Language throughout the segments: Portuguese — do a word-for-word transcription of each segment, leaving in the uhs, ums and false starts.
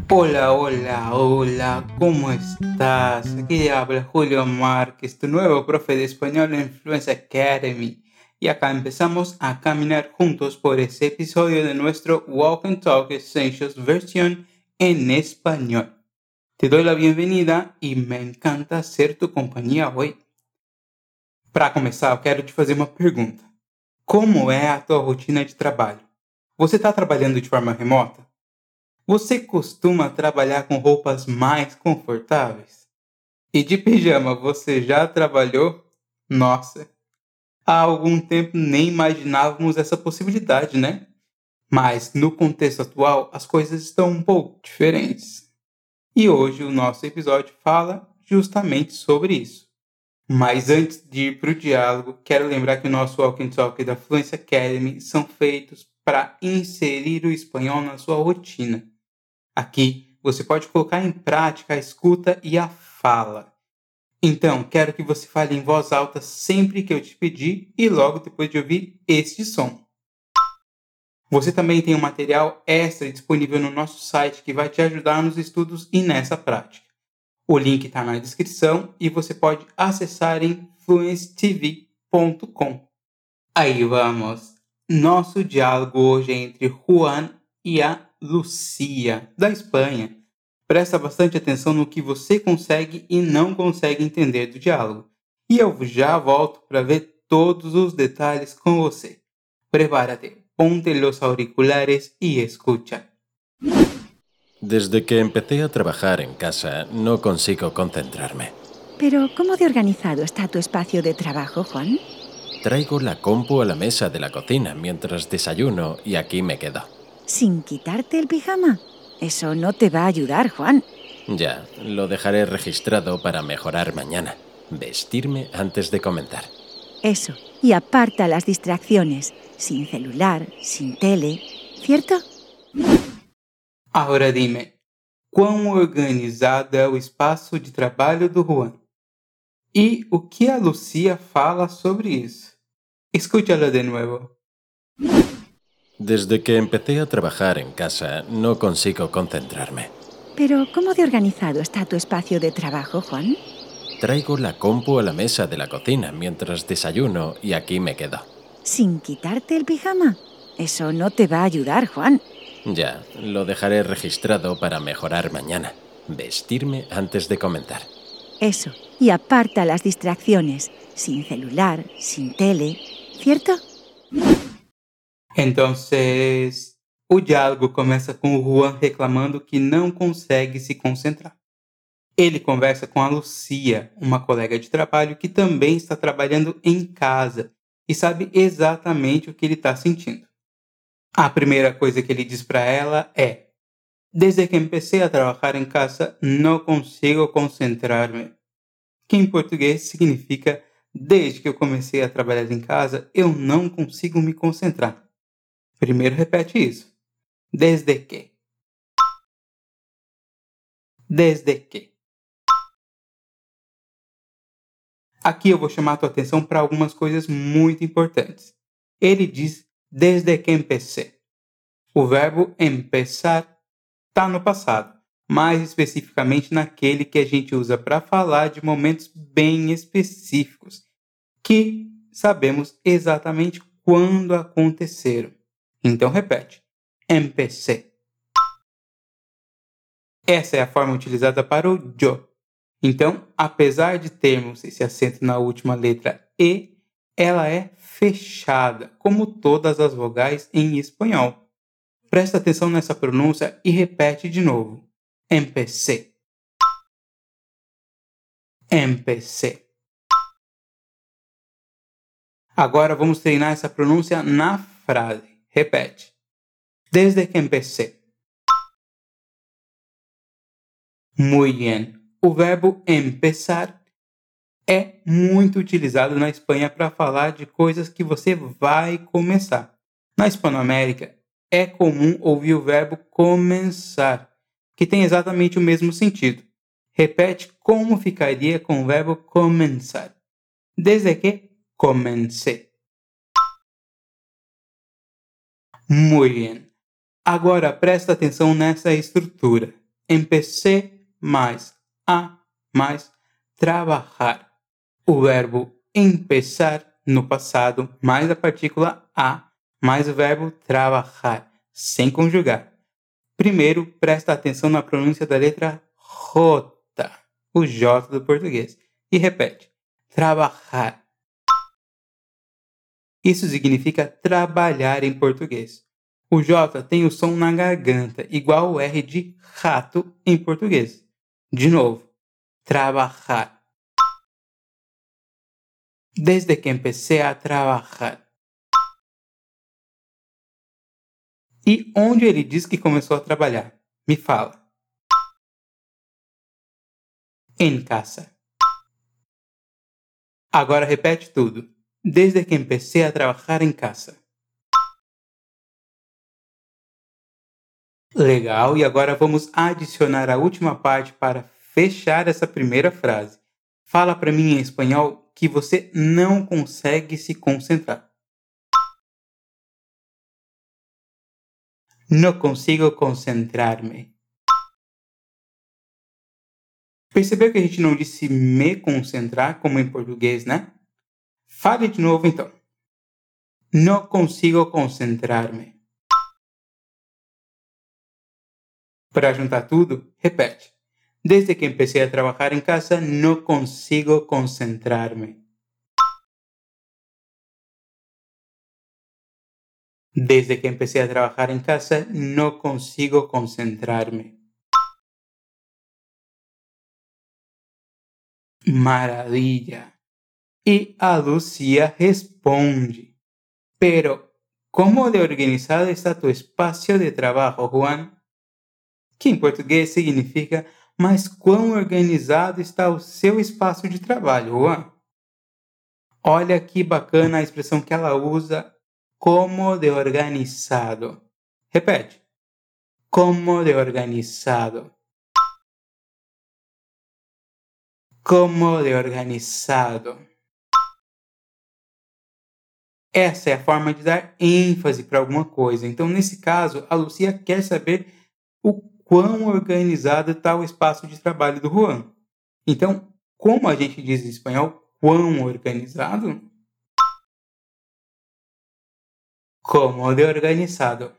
Hola, hola, hola, ¿cómo estás? Aquí te habla Julio Márquez, tu nuevo profe de español en Fluency Academy. Y acá empezamos a caminar juntos por este episodio de nuestro Walk and Talk Essentials versión en español. Te doy la bienvenida e me encanta ser tu companhia hoje. Para começar, eu quero te fazer uma pergunta. Como é a tua rotina de trabalho? Você está trabalhando de forma remota? Você costuma trabalhar com roupas mais confortáveis? E de pijama você já trabalhou? Nossa, há algum tempo nem imaginávamos essa possibilidade, né? Mas no contexto atual as coisas estão um pouco diferentes. E hoje o nosso episódio fala justamente sobre isso. Mas antes de ir para o diálogo, quero lembrar que o nosso Walk and Talk da Fluency Academy são feitos para inserir o espanhol na sua rotina. Aqui você pode colocar em prática a escuta e a fala. Então, quero que você fale em voz alta sempre que eu te pedir e logo depois de ouvir este som. Você também tem um material extra disponível no nosso site que vai te ajudar nos estudos e nessa prática. O link está na descrição e você pode acessar em fluency t v ponto com. Aí vamos! Nosso diálogo hoje é entre Juan e a Lucia, da Espanha. Presta bastante atenção no que você consegue e não consegue entender do diálogo. E eu já volto para ver todos os detalhes com você. Prepárate, ponte los auriculares y escucha. Desde que empecé a trabajar en casa, no consigo concentrarme. Pero, ¿cómo de organizado está tu espacio de trabajo, Juan? Traigo la compu a la mesa de la cocina mientras desayuno y aquí me quedo. ¿Sin quitarte el pijama? Eso no te va a ayudar, Juan. Ya, lo dejaré registrado para mejorar mañana. Vestirme antes de comenzar. Eso, y aparta las distracciones. Sin celular, sin tele, ¿cierto? Agora dime, quão organizado é o espaço de trabalho do Juan? E o que a Lucia fala sobre isso? Escúchala de nuevo. Desde que empecé a trabajar en casa, no consigo concentrarme. Pero, ¿cómo de organizado está tu espacio de trabajo, Juan? Traigo la compu a la mesa de la cocina mientras desayuno y aquí me quedo. ¿Sin quitarte el pijama? Eso no te va a ayudar, Juan. Ya, lo dejaré registrado para mejorar mañana. Vestirme antes de comenzar. Eso, y aparta las distracciones. Sin celular, sin tele, ¿cierto? Entonces, o diálogo começa com o Juan reclamando que não consegue se concentrar. Ele conversa com a Lucia, uma colega de trabalho que também está trabalhando em casa e sabe exatamente o que ele está sentindo. A primeira coisa que ele diz para ela é: desde que empecé a trabalhar em casa, não consigo concentrar-me. Que em português significa: desde que eu comecei a trabalhar em casa, eu não consigo me concentrar. Primeiro repete isso. Desde que. Desde que. Aqui eu vou chamar a tua atenção para algumas coisas muito importantes. Ele diz desde que empecé. O verbo empezar está no passado, mais especificamente naquele que a gente usa para falar de momentos bem específicos, que sabemos exatamente quando aconteceram. Então repete. Empecé. Essa é a forma utilizada para o yo. Então, apesar de termos esse acento na última letra E, ela é fechada, como todas as vogais em espanhol. Presta atenção nessa pronúncia e repete de novo. Empecé. Empecé. Agora vamos treinar essa pronúncia na frase. Repete. Desde que empecé. Muy bien. O verbo empezar é muito utilizado na Espanha para falar de coisas que você vai começar. Na Hispanoamérica, é comum ouvir o verbo começar, que tem exatamente o mesmo sentido. Repete como ficaria com o verbo comenzar. Desde que comencé. Muy bien. Agora presta atenção nessa estrutura. empecé mais a mais trabalhar. O verbo empezar no passado, mais a partícula a, mais o verbo trabalhar, sem conjugar. Primeiro, presta atenção na pronúncia da letra J, o J do português, e repete. Trabalhar. Isso significa trabalhar em português. O J tem o som na garganta, igual o R de rato em português. De novo. Trabalhar. Desde que empecé a trabalhar. E onde ele diz que começou a trabalhar? Me fala. Em casa. Agora repete tudo. Desde que empecé a trabalhar em casa. Legal, e agora vamos adicionar a última parte para fechar essa primeira frase. Fala para mim em espanhol que você não consegue se concentrar. Não consigo concentrar-me. Percebeu que a gente não disse me concentrar como em português, né? Fale de novo então. Não consigo concentrar-me. Para juntar tudo, repete. Desde que empecé a trabajar en casa, no consigo concentrarme. Desde que empecé a trabajar en casa, no consigo concentrarme. Maravilla. Y a Lucía responde. Pero, ¿cómo de organizado está tu espacio de trabajo, Juan? Que em português significa, mas quão organizado está o seu espaço de trabalho, Juan? Olha que bacana a expressão que ela usa, como de organizado. Repete. Como de organizado. Como de organizado. Essa é a forma de dar ênfase para alguma coisa. Então, nesse caso, a Lucia quer saber o quão organizado está o espaço de trabalho do Juan. Então, como a gente diz em espanhol, quão organizado? Como de organizado.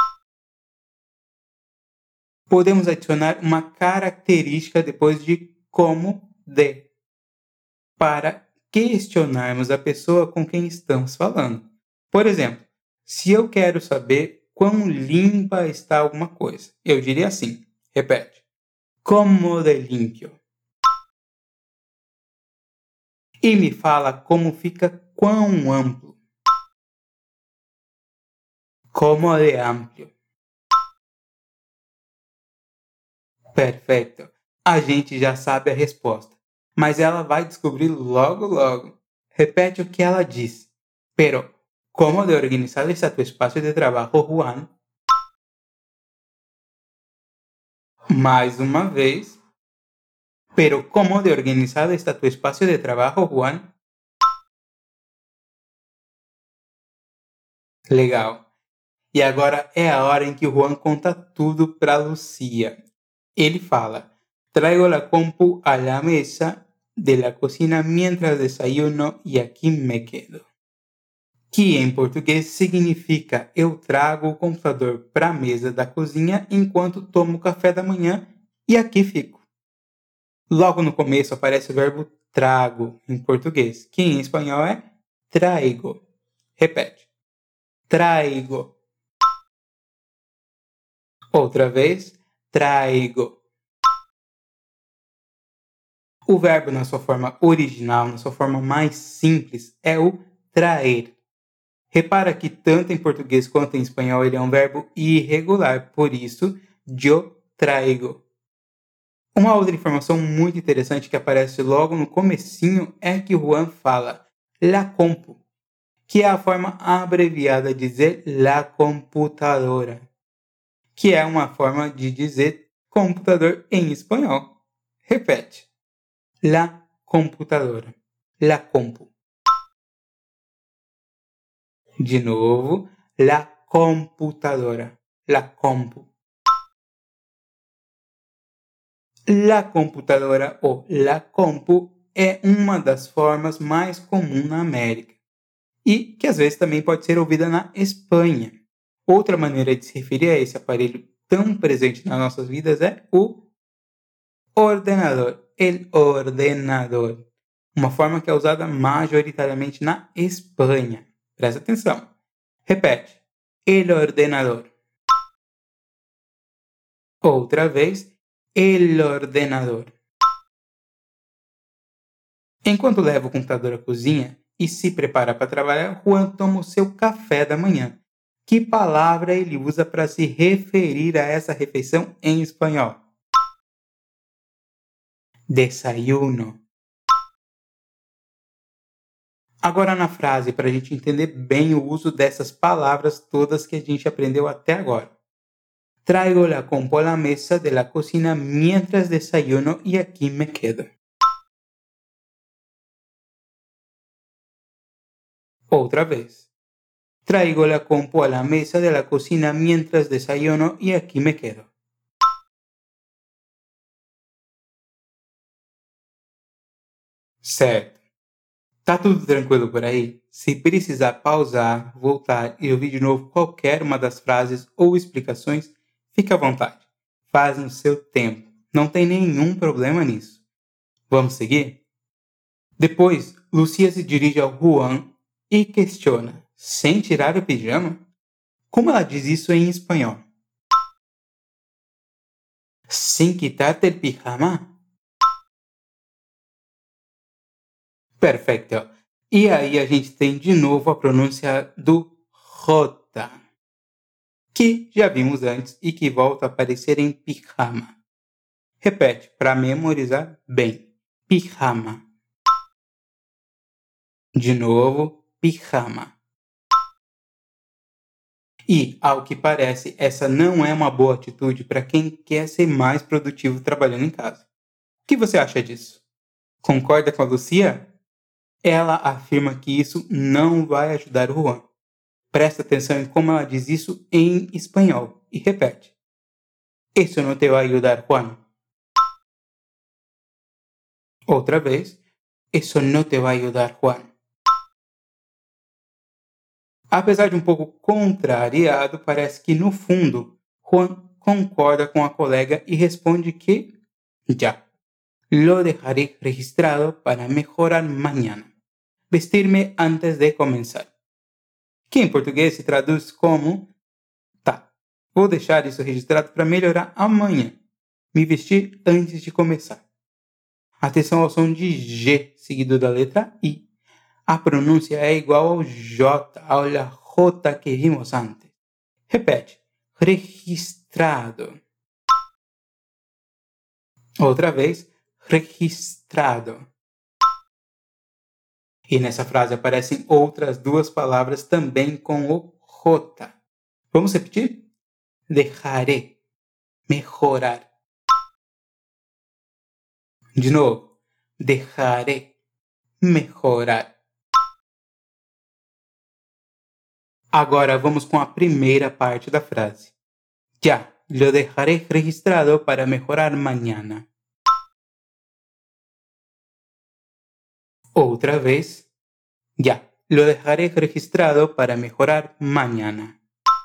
Podemos adicionar uma característica depois de como de, para questionarmos a pessoa com quem estamos falando. Por exemplo, se eu quero saber quão limpa está alguma coisa, eu diria assim, repete, como de limpio. E me fala como fica quão amplo. Como de amplio. Perfeito. A gente já sabe a resposta, mas ela vai descobrir logo logo. Repete o que ela diz. Pero, como de organizado está tu espaço de trabalho, Juan? Mais uma vez. Pero, como de organizado está tu espaço de trabalho, Juan? Legal. E agora é a hora em que o Juan conta tudo para Lucia. Ele fala, traigo la compu a la mesa de la cocina mientras desayuno y aquí me quedo. Que em português significa eu trago o computador para a mesa da cozinha enquanto tomo café da manhã e aqui fico. Logo no começo aparece o verbo trago em português, que em espanhol é traigo. Repete. Traigo. Outra vez. Traigo. O verbo na sua forma original, na sua forma mais simples, é o traer. Repara que tanto em português quanto em espanhol ele é um verbo irregular, por isso, yo traigo. Uma outra informação muito interessante que aparece logo no comecinho é que Juan fala la compu, que é a forma abreviada de dizer la computadora, que é uma forma de dizer computador em espanhol. Repete. La computadora. La compu. De novo. La computadora. La compu. La computadora ou la compu é uma das formas mais comuns na América e que às vezes também pode ser ouvida na Espanha. Outra maneira de se referir a esse aparelho tão presente nas nossas vidas é o ordenador, el ordenador, uma forma que é usada majoritariamente na Espanha. Presta atenção. Repete. El ordenador. Outra vez. El ordenador. Enquanto leva o computador à cozinha e se prepara para trabalhar, Juan toma o seu café da manhã. Que palavra ele usa para se referir a essa refeição em espanhol? Desayuno. Agora na frase, para a gente entender bem o uso dessas palavras todas que a gente aprendeu até agora. Traigo la compu a la mesa de la cocina mientras desayuno y aquí me quedo. Outra vez. Traigo la compu a la mesa de la cocina mientras desayuno y aquí me quedo. Certo. Tá tudo tranquilo por aí? Se precisar pausar, voltar e ouvir de novo qualquer uma das frases ou explicações, fique à vontade. Faz no seu tempo. Não tem nenhum problema nisso. Vamos seguir? Depois, Lucia se dirige ao Juan e questiona: sem tirar o pijama? Como ela diz isso em espanhol? Sem quitarte el pijama? Perfeito. E aí a gente tem de novo a pronúncia do J, que já vimos antes e que volta a aparecer em pijama. Repete para memorizar bem. Pijama. De novo, pijama. E, ao que parece, essa não é uma boa atitude para quem quer ser mais produtivo trabalhando em casa. O que você acha disso? Concorda com a Lucia? Ela afirma que isso não vai ajudar o Juan. Presta atenção em como ela diz isso em espanhol e repete. Isso não te vai ajudar, Juan. Outra vez. Isso não te vai ajudar, Juan. Apesar de um pouco contrariado, parece que no fundo, Juan concorda com a colega e responde que já. Lo dejaré registrado para mejorar mañana. Vestir-me antes de comenzar. Que em português se traduz como tá, vou deixar isso registrado para melhorar amanhã. Me vestir antes de começar. Atenção ao som de G seguido da letra I. A pronúncia é igual ao J, ao J que vimos antes. Repete. Registrado. Outra vez. Registrado. E nessa frase aparecem outras duas palavras também com o J. Vamos repetir? Dejaré. Mejorar. De novo. Dejaré. Mejorar. Agora vamos com a primeira parte da frase. Ya, lo dejaré registrado para mejorar mañana. Outra vez. Ya, lo dejaré registrado para mejorar mañana.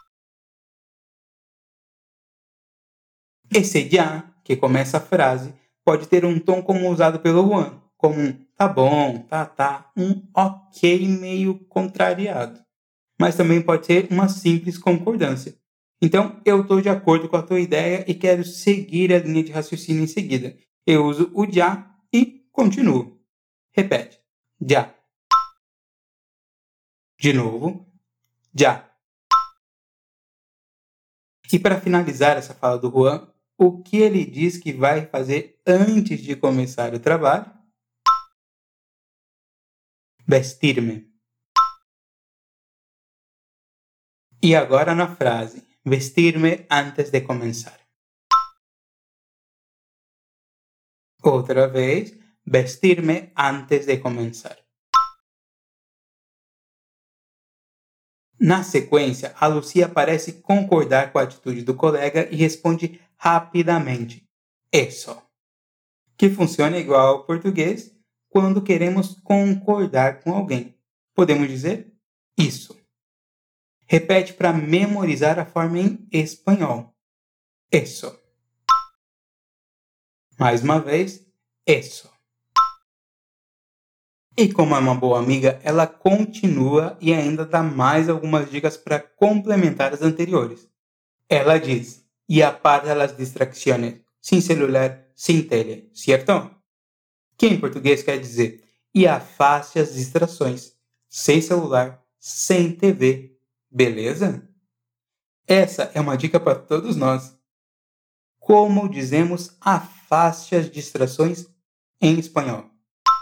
Esse ya, que começa a frase, pode ter um tom como usado pelo Juan, como um tá bom, tá, tá, um ok meio contrariado. Mas também pode ser uma simples concordância. Então, eu estou de acordo com a tua ideia e quero seguir a linha de raciocínio em seguida. Eu uso o já e continuo. Repete. Já. De novo. Já. E para finalizar essa fala do Juan, o que ele diz que vai fazer antes de começar o trabalho? Vestir-me. E agora na frase, vestir-me antes de começar. Outra vez, vestir-me antes de começar. Na sequência, a Lucia parece concordar com a atitude do colega e responde rapidamente. Isso. que funciona igual ao português quando queremos concordar com alguém. Podemos dizer isso. Repete para memorizar a forma em espanhol. Eso. Mais uma vez, eso. E como é uma boa amiga, ela continua e ainda dá mais algumas dicas para complementar as anteriores. Ela diz, y aparta las distracciones, sin celular, sin tele, certo? Que em português quer dizer, e afaste as distrações, sem celular, sem T V, beleza? Essa é uma dica para todos nós. Como dizemos afaste as distrações em espanhol?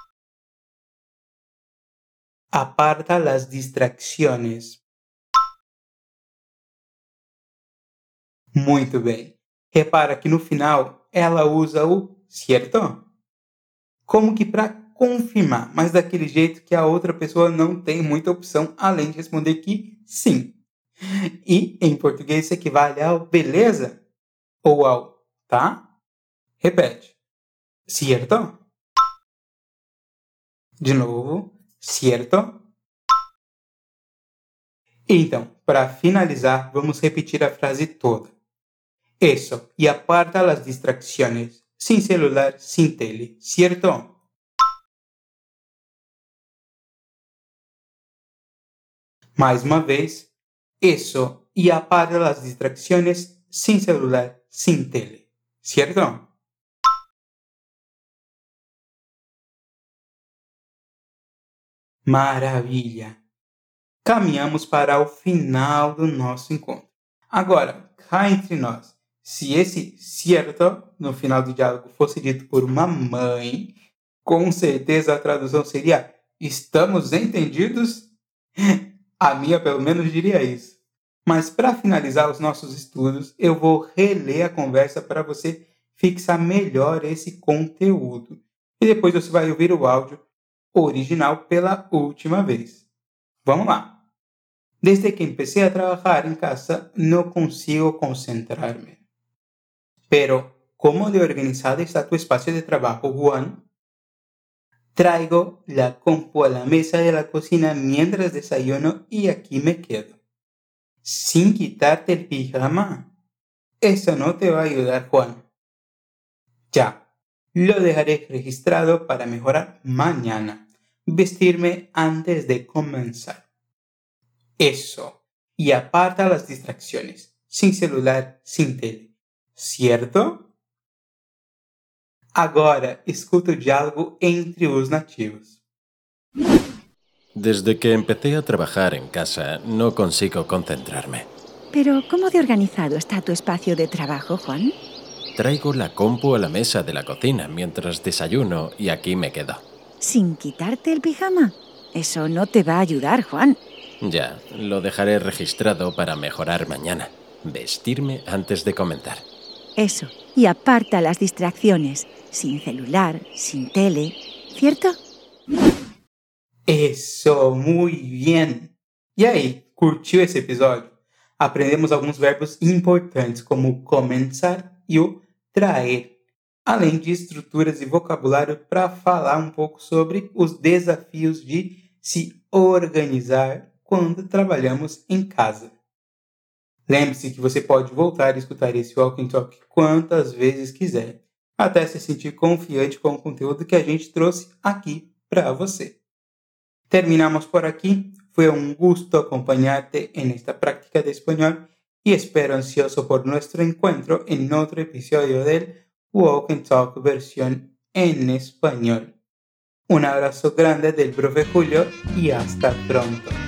Aparta las distracciones. Muito bem. Repara que no final ela usa o cierto? Como que para confirmar, mas daquele jeito que a outra pessoa não tem muita opção além de responder que sim. E em português isso equivale ao beleza ou ao tá? Repete. Cierto? De novo. Cierto? Então, para finalizar, vamos repetir a frase toda. Eso, y aparta las distracciones. Sin celular, sin tele, ¿cierto? Mais uma vez. Eso, y aparta las distracciones. Sin celular, sin tele, ¿cierto? Maravilha! Caminhamos para o final do nosso encontro. Agora, cá entre nós, se esse cierto no final do diálogo fosse dito por uma mãe, com certeza a tradução seria estamos entendidos? A minha pelo menos diria isso. Mas para finalizar os nossos estudos, eu vou reler a conversa para você fixar melhor esse conteúdo. E depois você vai ouvir o áudio original pela última vez. Vamos lá. Desde que empecé a trabajar en casa, no consigo concentrarme. Pero, ¿cómo de organizado está tu espacio de trabajo, Juan? Traigo la compu a la mesa de la cocina mientras desayuno y aquí me quedo. Sin quitarte el pijama. Eso no te va a ayudar, Juan. Ya, lo dejaré registrado para mejorar mañana. Vestirme antes de comenzar. Eso. Y aparta las distracciones. Sin celular, sin tele. ¿Cierto? Agora, escuta o diálogo entre os nativos. Desde que empecé a trabajar en casa, no consigo concentrarme. Pero, ¿cómo de organizado está tu espacio de trabajo, Juan? Traigo la compu a la mesa de la cocina mientras desayuno y aquí me quedo. ¿Sin quitarte el pijama? Eso no te va a ayudar, Juan. Ya, lo dejaré registrado para mejorar mañana. Vestirme antes de comenzar. Eso, y aparta las distracciones. Sin celular, sin tele, ¿cierto? Eso, muy bien! E aí, curtiu esse episódio? Aprendemos alguns verbos importantes como começar e o traer, além de estruturas e vocabulário para falar um pouco sobre os desafios de se organizar quando trabalhamos em casa. Lembre-se que você pode voltar e escutar esse Walk and Talk quantas vezes quiser, até se sentir confiante com o conteúdo que a gente trouxe aqui para você. Terminamos por aqui. Fue un gusto acompañarte en esta práctica de español y espero ansioso por nuestro encuentro en otro episodio del Walk and Talk versión en español. Un abrazo grande del profe Julio y hasta pronto.